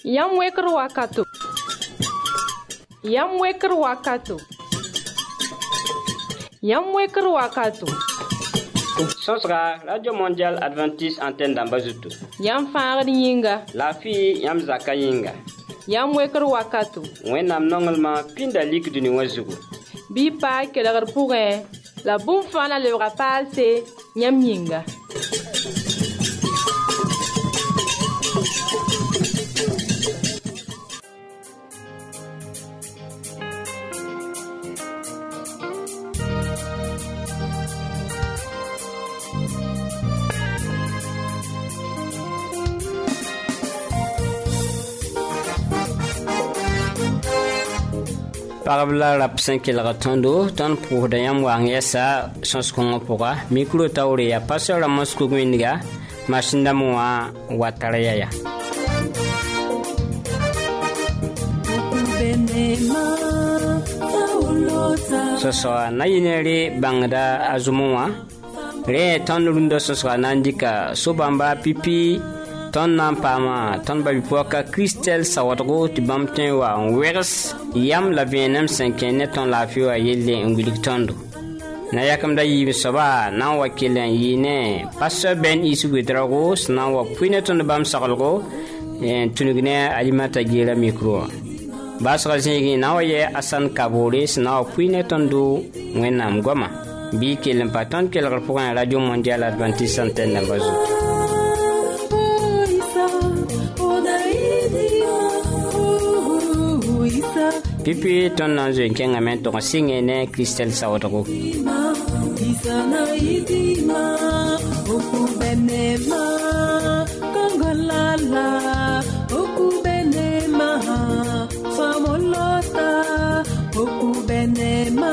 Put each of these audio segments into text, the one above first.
Yam weker wakato. Yam weker wakato. Yam weker wakato. Sosra Radio Mondial Adventiste Antenne d'Ambazutu. Yam faagd yinga. La fi yam zaka yinga. Yam weker wakato. Wẽnnaam nonglema pĩnda lik dũni wã zugu. Bɩ paa kelgr pʋgẽ la bũmb fãa na lebga paalse yãmb yĩnga. Parabla rap 5 kelga tondo ton pour de yam wang yesa sons kongo poka micro tawre ya passer la mosku gwinga mashinda mwa wataraya ya so na yinere bangda azumwa re ton rundo so nandika sobamba pipi ton nampama ton babipoka Christel Sawadgo ti bamten wa wers yam la venem 5 net ton la fio yelle ngulik tondo na yakam da yi soba na wakilen yine pastor Ben isu gudrago na wa puine ton bam sagalgo tunugne alimata gira micro basra zingi na waye asan kabore na wa puine tondo wenam goma bi kelen paton kel pour Radio Mondial Adventiste Antenne d'Ambazutu. Pipi ton nanzo kenga men to singe ne Christel Sawadgo. Isana idima okubenema kongolala okubenema famolota okubenema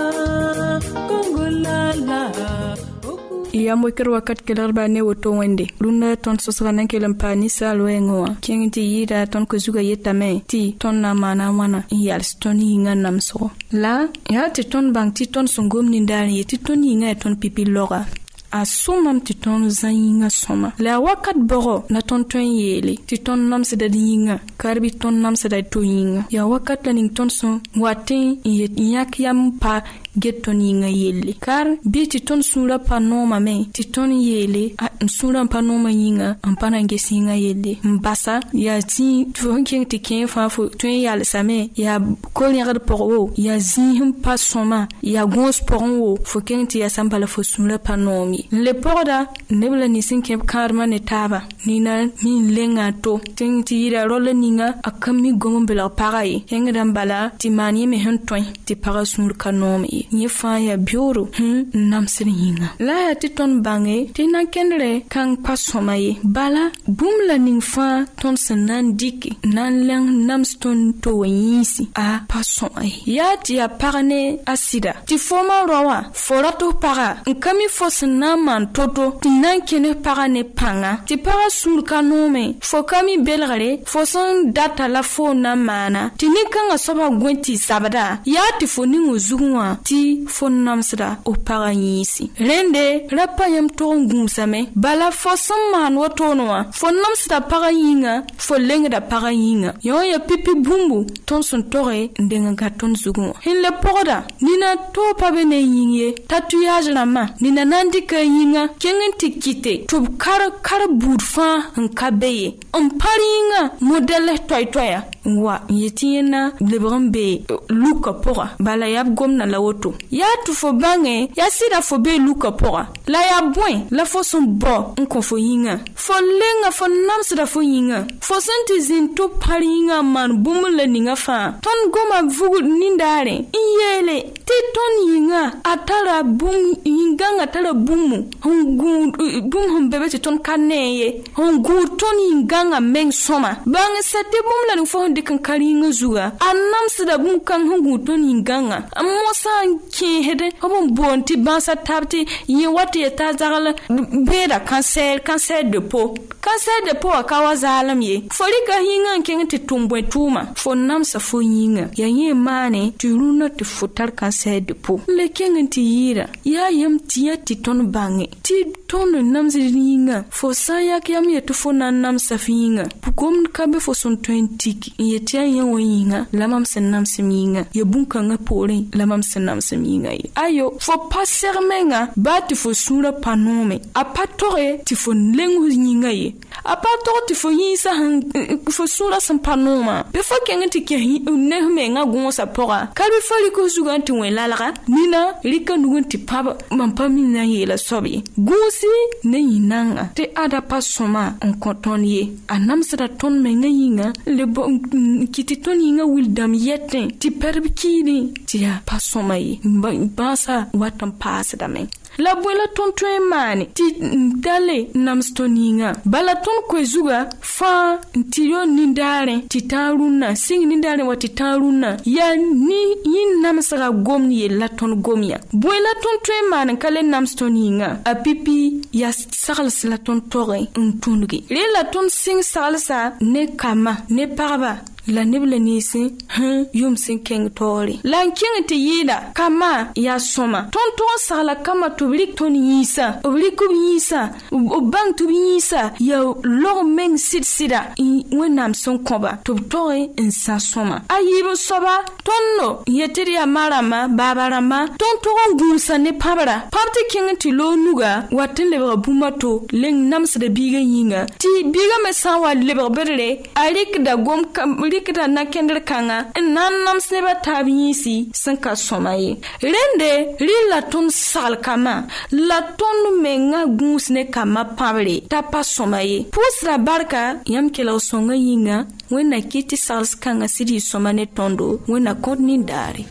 kongolala. Ya moker wakat kelar bane woto wende runa ton sosrana kelam pani salwengo kengti yida ton ko zuga yetame ti ton na mana wana yal stoni nga namso la ya ti ton bang ti ton sungom ni ndani ti ton nga ton pipi loga a sumam ti ton zayinga soma la wakat boro na ton ton yele ti ton namse da yinga karbi ton namse da to yinga ya wakat la ning ton son watin yak yam pa getton yinga yelle kar bi ti ton sura panoma me ti ton yele a sura panoma yinga ampana ngesinga yelle mbasa ya ti fonking ti ken fa fo ton yal same ya kolnyar poro ya zihim pasoma ya gons poronwo fo ken ti ya sambala fo sura panomi le porda nebla ni sinke karma ne taba ni na min lenga to tin ti ira rola ninga akami gombela parai henga dambala ti mani me hentoy ti para sur kanomi ni fa ya bioro namsir yinga la ya ti ton bange ti na kenre kan pasomaye bala bumla ning fa ton sanan diki nan lang namston to wanyisi a pasomaye ya ti ya parane asida ti foma rowa forato para nkami fosna man toto ti nan kene parane panga ti para sur kanome fokami belgare foson data la fona mana ti ni kanga soba gwenti sabada ya ti foni nguzuwa ti fonnamsda o paranyisi rende rapayam to ngumsame bala foson man wotonwa fonnamsda paranyinga folengda paranyinga yo ya pipi bumbu ton son tore ndenga gaton zugo hinle poda nina to pabene yinye tatouage na ma nina nandika yinga kengen tikite to kar budfa nkabeye paringa modele toytoya wa yetiena lebrambe luka pora bala yab gomna la woto ya tu fo bange ya sida fo be luka pora la ya bwen la fo son bo nko fo yinga fo lenga fo namsda fo yinga fo senti zinto paringa man bumule ninga fa ton goma vugu nindare yele ti ton yinga atara bum yinga atara bumu bum humbebe ti ton kaneye hongu ton yinga meng soma bange sete bumla ni fo de kan karinga zuga anamsda bum kan hungu ton inganga amosa ki hede obon bonti bansa tabti yi wati ta zagala beda cancer de peau akawa zalam ye folika hinga kengti tumbwe tuma fo namsa fo yinga ya ye mane turuna te futar cancer de peau le kengti yira ya yam tiya ti ton bange ti ton namsa yinga fo saya kyam ye to fo namsa finga pukom kabe fo son 20 ye tiya ye yinga lamam sen namsa yinga ye bunka nga pore lamam sen namsa yinga ayo fo passer menga bat fo sura panome apatore ti fo lengu yinga ye apatore ti fo yisa fo sura san panoma be fo kenga ti ke ne menga gonsa pora kalbi fali ko zuganti welalaga nina rika nugunti paba mampami na yela sobi gusi ne yinanga te ada pasoma on kotonye anamsada ton menga yinga le bon kiti ton yinga wildam yeten ti perbikini ti ya pasoma yi basa watam pasada men la bola ton mani ti dale namstoninga bala ton kwezuga fa tiyo nindare ti taruna sing nindare wati taruna ya ni yin namsaga gomni ye la ton gomia bola ton mani kale namstoninga a pipi ya sagals la ton tore untungi le la ton sing salsa ne kama ne parba la nebla nisi yum sin keng tori lan keng te yida kama ya soma ton sala kama to blik ton yisa obliku yisa o bang to yisa ya lo meng sida wenam son koba to tori insa soma ayibo soba tonno yeteri amarama babarama ton gunsa ne pabara papte keng ti lo nuga watin le bumato leng nams de biga yinga ti biga me sawa le berre alik da gom rikda na kender kanga nan nam sneba tabisi sanka somaye rende rila ton sal kama la ton menga gusne kama pavre tapa somaye pusra barka yam kela songa yinga wena kiti sals kanga sidi somane tondo wena kodni dare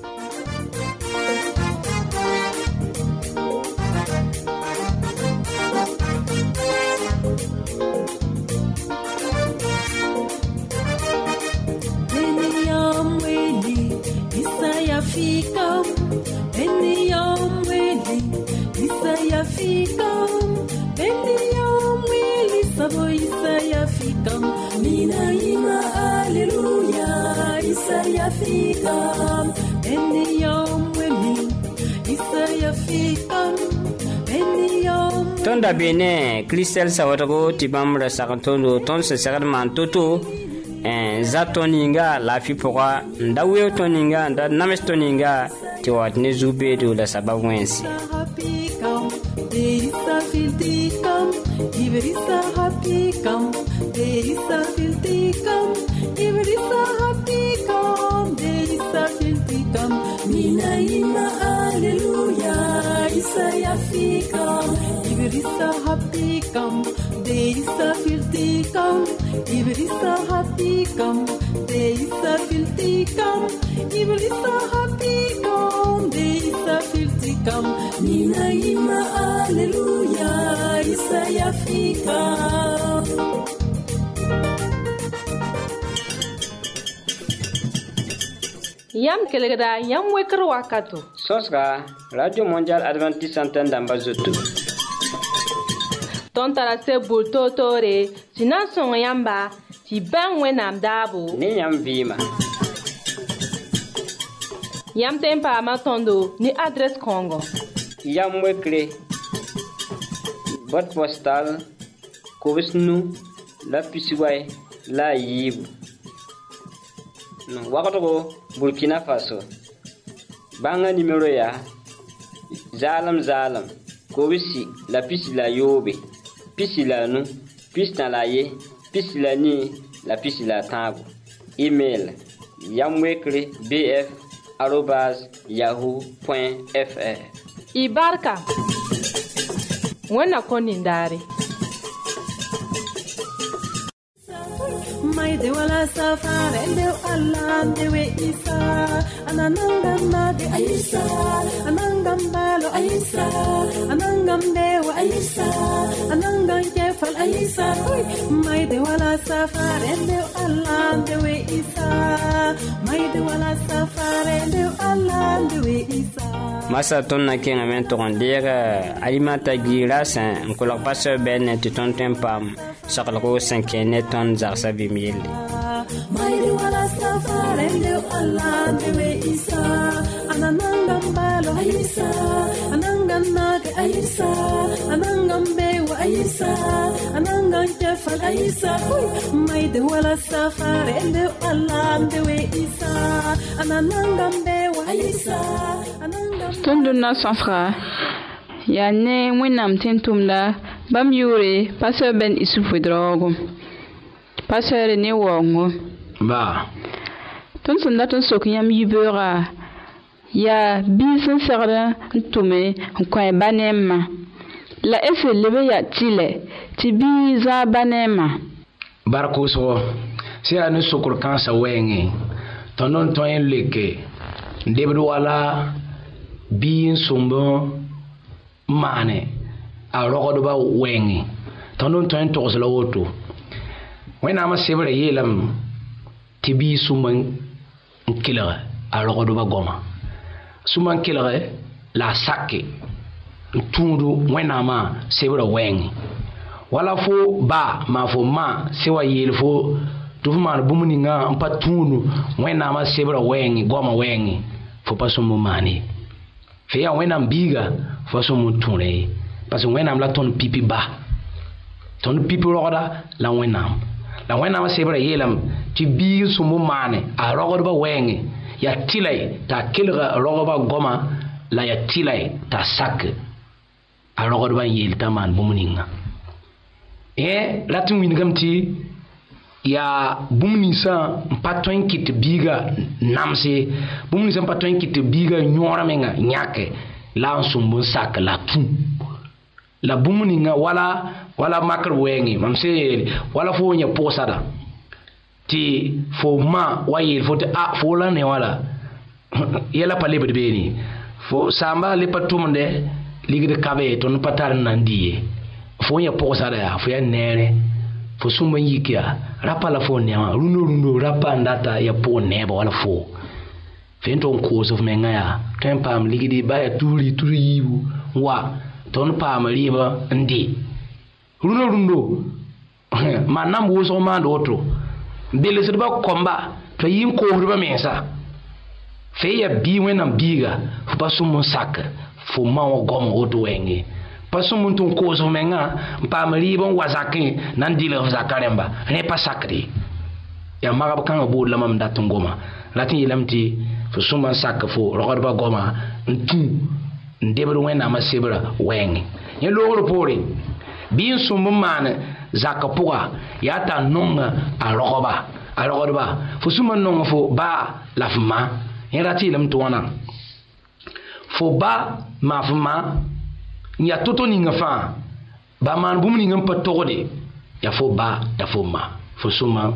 Tonda bene Christel sawatago tibamra sakantondo ton se sagadman toto zatoninga la fi pourra ndawe toninga nda namestoninga ti watne zube do la sababwensi Mina ima alleluia Isaiah fikam Ibrisa hapikam Deisa filtikam Ibrisa hapikam Deisa filtikam Ibrisa hapikam Deisa filtikam Mina ima alleluia Isaiah fikam Yam kelegda yam wekr wakato. Sosga Radio Mondial Adventiste Antenne d'Ambazoto. Ton tarase bulto tore, sinan son yamba, ti ben wenam dabo. Ni yam vima. Yam tempa matondo ni adresse Congo. Yam wekre. Boîte postale Kovisnu la Pisiway la Yib. Wakato Burkina Faso. Banga numéro ya Zalam Kovisi la pisi la yobe. Pisi la nu, pisi na la ye, pisi la ni, la pisi la tango. Email yamwekre bf@yahoo.fr. Ibarka. Wena konindari. mai de wala safare de Allah de we isa anananga de Aisa anangam balo Aisa anangam de wa Aisa anangam jefal Aisa mai de wala safare de Allah de we isa mai de wala safare de Allah de we isa masa ton na kenga men to ndira alimata gira san ko la passe ben ti ton tempam sakala ko 5 net ton za sa bimil mai de wala safare de Allah de we isa anangam balo Aisa anangam na de Aisa anangam be wa Aisa anangam jefal Aisa mai de wala safare de Allah de we isa anangam be wa Aisa Tonduna safra ya ne wenam tentumda bam yure passer ben isufu drogo passer ne wongo ba ton sonda ton sokyam yibera ya bisin sarda ntume ko banema la efe lebe ya tile tibi za banema barko so si anu sokur kansa wengi tonon toyen leke ndebdo wala biin sumbo mane a rogodo ba wengi tonon toyen tokosla woto wena ma sebre yelam tibi sumban kila a rogodo ba goma sumban kila la sakke tundu wena ma sebre wengi wala fo ba ma fo ma sewa yel fo tufuma bumuni nga mpa tundu wena ma sebre wengi goma wengi fo pasumu mani feya wena mbiga fo sumu tunre parce wena la ton pipi ba ton pipi roda la wena ma sebre yelam ti bi sumu mane a roda ba wengi ya tilai ta kilga roda ba goma la ya tilai ta sak a roda ba yel taman bumuni nga latin wingamti ya bumni sa paton kit biga namse bumni sa paton kit biga nyora menga nyake la nsumbu sak la tu la bumni nga wala makar wengi mamse wala fo nya posada ti fo ma wayel fo ta fo la ne wala yela pale bedbeni fo samba le patumde ligde kabe ton patar nandiye fo nya posada ya fo ya nere fo sumba yikia rapa la fo nema rundo rapa ndata ya po neba wala fo fento ko so menga ya tempam ligidi baya turi yibu wa ton pam riba ndi rundo manam wo so mando oto bele sirba komba to yin ko riba mensa fe ya bi wenam biga fo pasumo sak fo mawo gom oto wenge pasum tun ko so menga pa mari bon wazaki nan dile zakaremba ne pa sakri ya magab kan bo lamam datun goma latin yilamti fo suma sak fo rogarba goma ntu ndebro wena ma sebra wengi ye logro pore bin sum man zakapuga ya ta nonga a rogarba fo suma nonga fo ba lafma ye rati lam to wana fo ba mafma nya toto ninga fa ba man bum ninga pa togode ya fo ba ya fo ma fo suma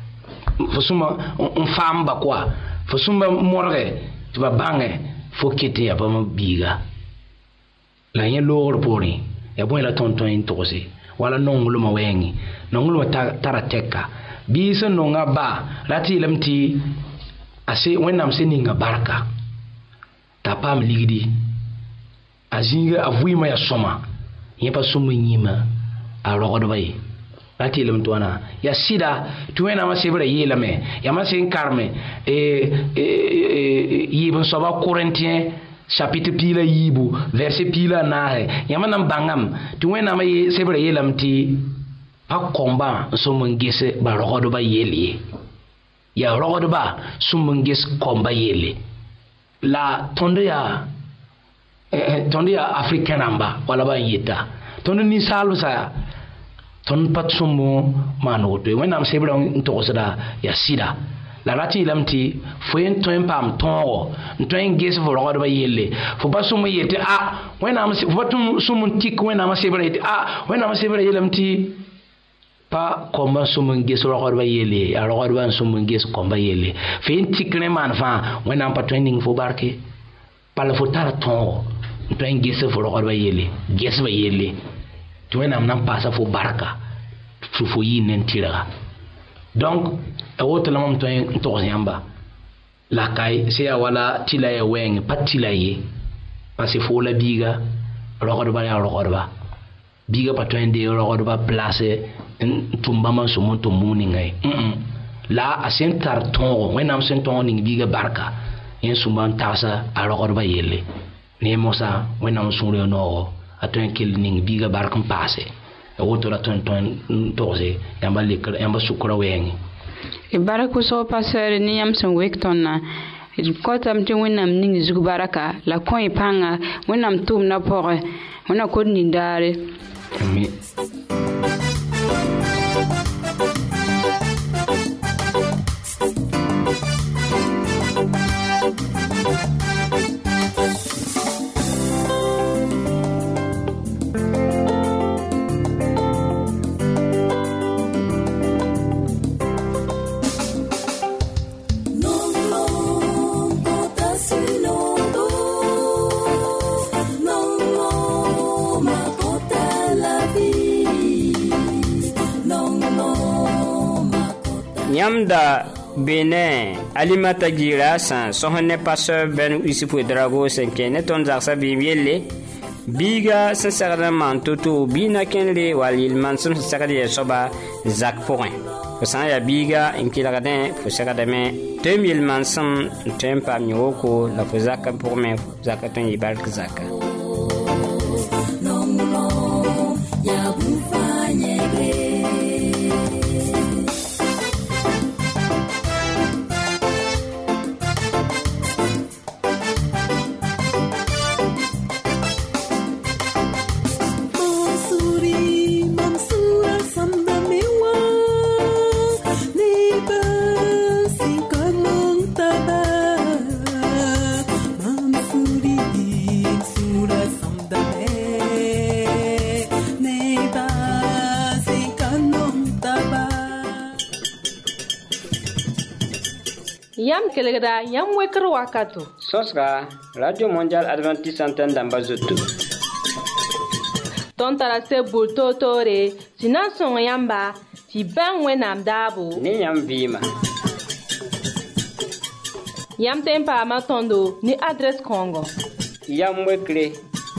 on famba quoi fo suma morge tu ba bange fo kete ya ba biga la nya lor pori ya bo la tonton in tose wala nongolo ma wengi nongolo tarateka bisa nonga ba lati lamti ase wenam se ninga barka tapam ligidi azinga avuima ya soma yepa sumu nyima a rogodo bay lati lam tuana ya sida tuena ma sebra yelame ya ma sen karme yibon soba corinthiens chapitre pila yibu verset pila nahe ya ma nam bangam tuena ma sebra yelam ti pa komba sumu ngese ba rogodo ba yeli ya rogodo ba sumu ngese komba yeli la tonde ya africain amba wala ba yita ton ni salu sa ton patsumo manoto wenam sebra to sada ya sida la rati lamti fo en to pam tongo to en ges fo rodo ba yelle fo basumo yete wenam fo tum sumun tik wenam sebra yete wenam sebra yelamti pa komba sumun ges rogor ba yele ya rogor ban sumun ges komba yele fin tikne man fa wena pa training fo barke pala fo tara ton train ges fo rogor ba yele ges ba yele to wena nam pasa fo barka fo yinen tira donc e woto lamam to yamba la kai se wala tila ya weng patila ye parce fo la biga rogor ba biga patwende rogor ba place tumba man sumun tumuni ngai la asen tar ton wenam sen ton ning biga barka en suman tasa a rogor ba yele ne mosa wenam sunre no atwen kel ning biga barkan passe e woto la ton toze yamba lekar yamba sukura wengi e barako so passer ni yam son wektonna ko tam te wenam ning zugu baraka la koy panga wenam tum na pore wona ko ni dare mi Yamda Benin Alimata Gira San Sohone Pasteur Ben Usifu Drago Senkene Ton Zaksa Bibiele Biga Sansarman Toto Bina Kenle Walil Manson Sakadi Soba Zak Point Osan ya Biga Inkilagadin Fusakadame 2000 Manson Tempa Nyoko La Fuzaka pour me Zakaton Yibalk Zaka Yam kelegra yam wekro wakato. Sosra Radio Mondial Adventiste Antenne d'Ambazoto. Ton tarase bulto tore, sinan son yamba, ti ben wenam dabo. Ni yam vima. Yam tempa matondo ni adresse Congo. Yam wekre.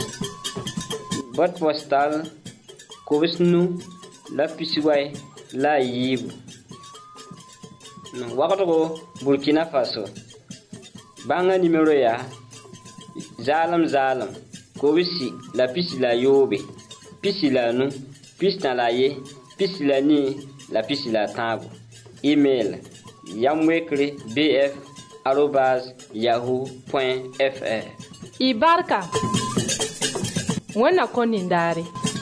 Boîte postale Kobisnu la Pisiway la Yibu. Wakato Burkina Faso banga numéro ya zalam Kobisi la pisi la yobe pisi la nu pisi na la ye pisi la ni la pisi la tabu. Email yamwekre bf@yahoo.fr. Ibarka wana konindare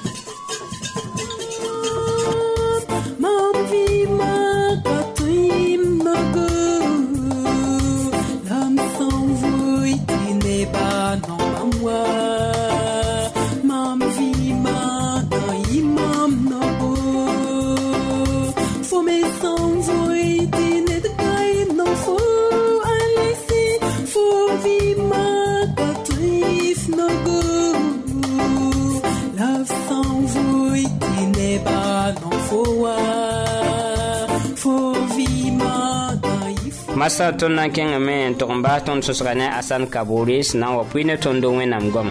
Masa tonna kenga men tokomba ton sosgane asan kaburis na wapine tondo wenam goma.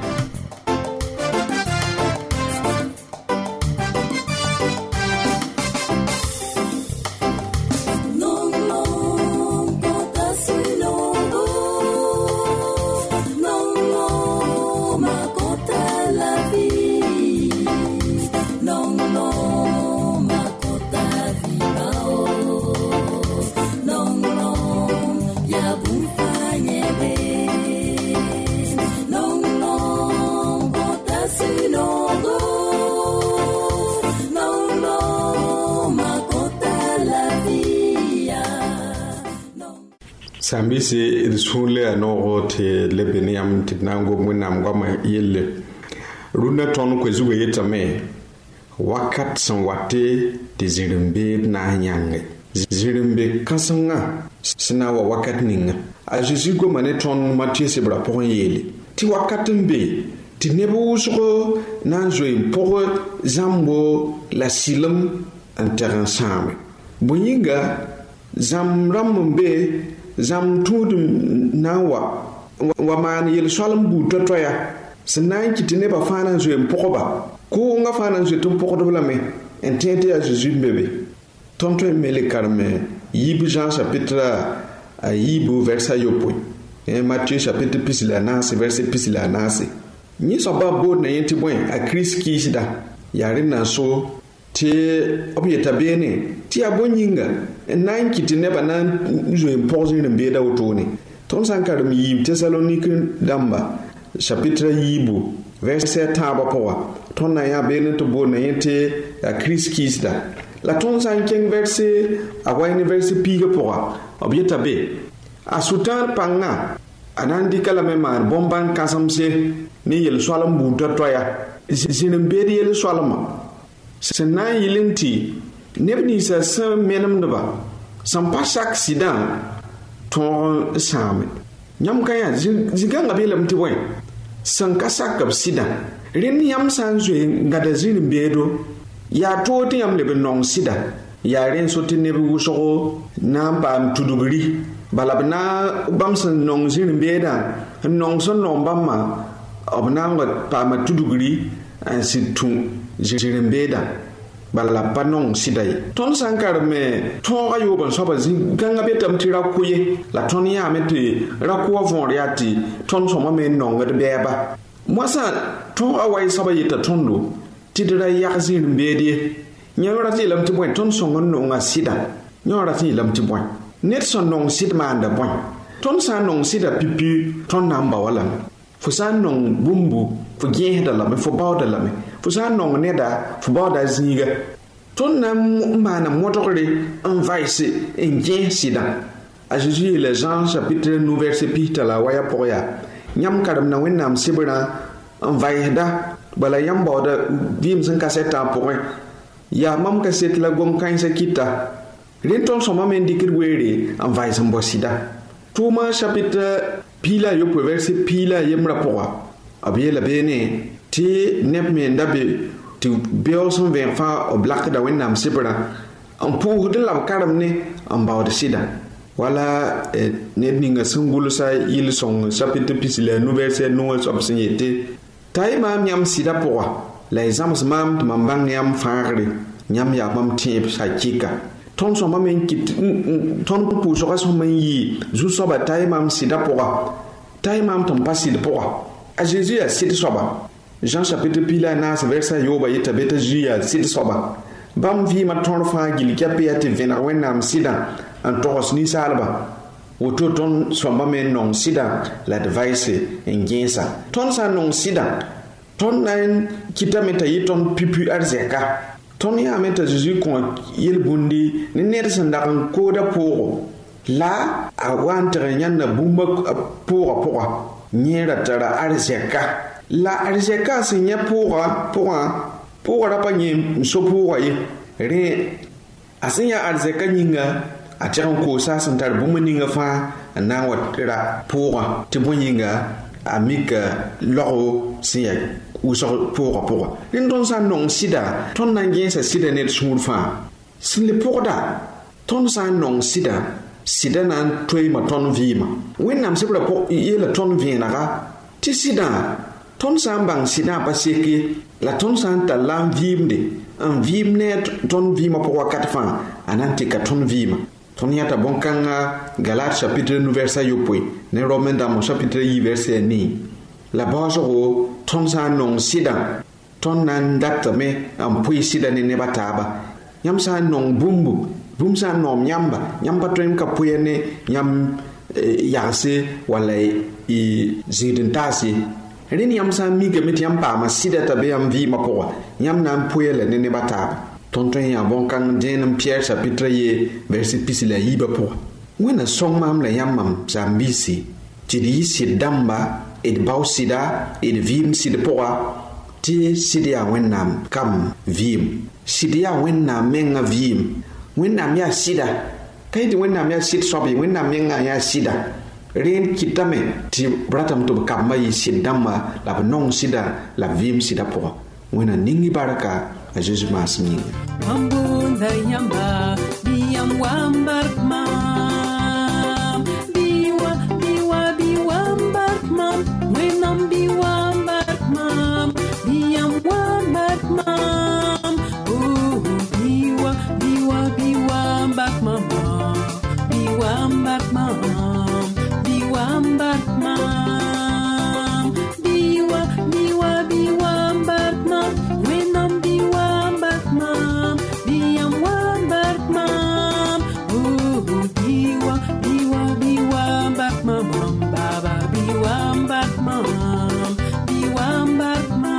Sambisi risunle anogo te lebeniam tipnango mwenam goma yelle runa ton ko zuwe yetame wakat san wate de zirembe na nyange zirembe kasanga sina wa wakat ninga a Jésus go mané ton Matthieu se bra pour yele ti wakatembe ti nebo usro na zoe pour zambo la silam en terrain same buyinga zam rambe zam tud nawa wa man yel solam bu totoya sinan ki ne ba fana zoe pour ko nga fana je tum poko de la me entente à Jésus bébé tonto mele karme yib Jean chapitre a yib verset yopo et Matthieu chapitre plus la nas verset plus la nas ni so ba bo na yenti boy a Christ ki sida yare na so te obieta bene ti abonyinga nan kiti ne ba nan je impose ne be da wotoni ton sankar mi yib Thessalonique damba chapitre yibu verset taba poa ton na ya bene to bo na yente a Christ kisda la ton sanken verset a wayne verset piga poa obieta be a sutar panga anandi kala memar bomban kasamse ni yel solam bu toya sinin be yel solama sena yilinti nebni sa sam menam neba sam pasak sidan ton same nyam kaya ziganga belam ti wen san kasak kap sidan rin yam san zwe ngada zin bedo ya to ti yam lebe nong sida ya ren so ti nebu wuso na pam tudugri balabna bamsan nong zin beda nong son nong bamma obna ngot pam tudugri an situ zin beda bala panong sidai ton sankar me ton ayo ban so ba zin ganga betam ti rakuye la ton ya meti rakuwa von riati ton so ma me nong de beba mwasa ton awai saba yita tondo tidira yakzin bedi nyora ti lam ti boy ton songon no nga sida nyora ti lam ti boy net son nong sid manda boy ton sa nong sida pipi ton namba wala fu sa nong bumbu fu gehda la me fu bawda la me fu sa nong neda fu bawda zinga ton na mana motokre en vaise en gen sida a Jésus le Jean chapitre 9 verset pita la waya poya nyam karam na wennam sibra en vaida bala yam bawda dim san kaseta point ya mam kaset la gom kan sa kita renton so mam indikir were en vaisa mbosida Toma chapitre pila yo verset pila yemra poa abie la bene ti nep me ndabe ti beoson ven fa o blak da wennam sibra en pour de la karam ne en bawda sida wala nedninga sungulu sa il son chapitre pisile no verset no sobsignete tay mam yam sida poa la exams mam mambang yam faare nyam ya mam tiep sa kika ton so mam kit ton pu so so man yi zu so ba tay mam sida poa tay mam ton pas sida poa a Jésus a sida soba Jean chapitre pila nas verset yoba yeta beta jia sida soba bam vi ma ton fa gil kape ate vena wenam sida en toros ni salba woto ton somba men non sida la device en gensa ton sa non sida ton nan kitameta yiton pipu arzeka ton ya meta Jésus kon yel bundi ni net sandakan koda poro la a wantere nyanna bumba pora nyera tara arzeka la arzeka sinya pora pa nyi so pora ye re asinya arzeka nyinga a tiran ko sa santar bumuninga fa na watira pora tibonyinga amika loro siya uso pora ndon sa non sida ton nangen sa sida net sunfa sin le porda ton sa non sida nan toy ma ton vima wennam sibra po yela ton vina ga ti sida ton sa bang sida paseke la ton sa ta lam vimde en vimne ton vima po wakat fa ananti ka ton vima ton yata bonkanga Galates chapitre 9 verset yopoi ne Romains dans chapitre 8 verset ni la base ro ton sa non sida ton nan datame en pui sida ne bataba nyam sa non bum sa nom nyamba tren ka puyene nyam yase wala i zidentasi ren yam sa mi ke mit yam pa ma sida tabe yam vi ma poa nyam nan puyele ne bataba tonton ya bon kan denam Pierre chapitre ye verset pisila yiba poa wena song mam la yam mam zambisi ti di sid damba et bausida et vim sid poa tɩ sɩd yaa wẽnnaam kam vɩɩm sɩd yaa wẽnnaam menga vɩɩm wẽnnaam yaa sɩda ka yetɩ wẽnnaam yaa sɩd soab ye wẽnnaam menga yaa sɩda rẽnd kɩtame tɩ b ratame tɩ b kambã yɩ sɩd dãmbã la b nong sɩda la b vɩɩm sɩda pʋgã wẽnna ning barka a Zeezi maasem yĩnga Wambunda yamba biyam wambark mam biwa biwa biwambark mam wenam biwambark mam biyam wambark mam biwa biwa biwambark mam biwambark mam biwambark mam biwa biwa biwambark mam wenam biwambark mam biyam wambark mam biwa biwa biwambark mam baba biwambark mam biwambark mam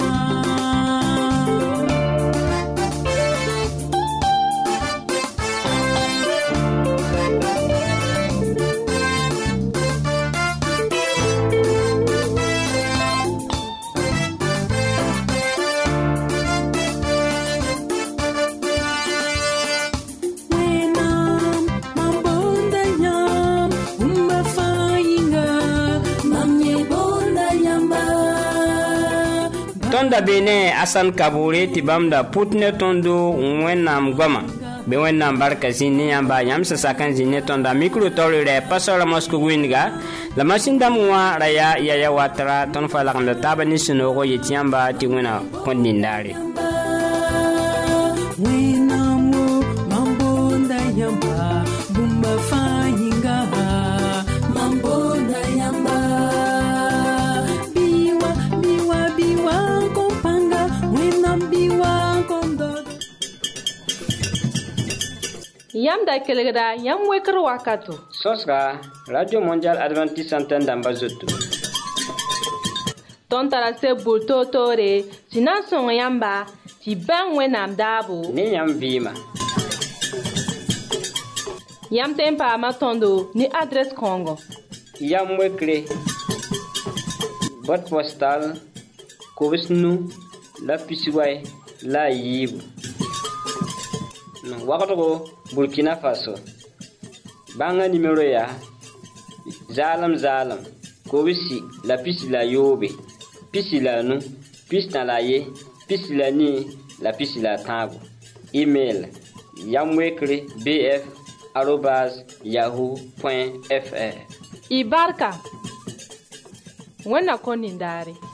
Tonda bene asan kabure ti bamda putne tondo wẽnnaam goama be wẽnnaam barka zĩnd yãmba yãmb sẽn sak n zĩnd ne tõnda mikro taoore rɛ pasora mosko wĩndga la masin dãmb wã ra yaa yaya watra tõnd fa lagmda taaba ne sũ-noogo yet yãmba tɩ wẽna kõn nindaare wẽnnaam wo mam boonda yãmba bũmba fãa yĩnga mam boonda yãmba biwa biwa biwa n kõn pãnga wẽnnaam biwa n kõn dod Yam da kelgda yam wekr wakato. sõsga radio mondial adventiste antenne dãmba zoto Tõnd tara seb bul toor-toore tɩ na n sõng yãmba tɩ bãng wẽnnaam daabo ne yãmb vɩɩma yãmb tẽ n paama tõndo ne adrɛs kãongo yam wekre boîte postale kobs nu la pisway la a yiibu wagdgo Burkina Faso bãnga nimero yaa zaalem kobsi la pisi la yoobe pisi la nu pisi na la ye pisi la nii la pisi la tãago email yamwekre bf@yahoo.fr y barka wẽnna kõ nindaare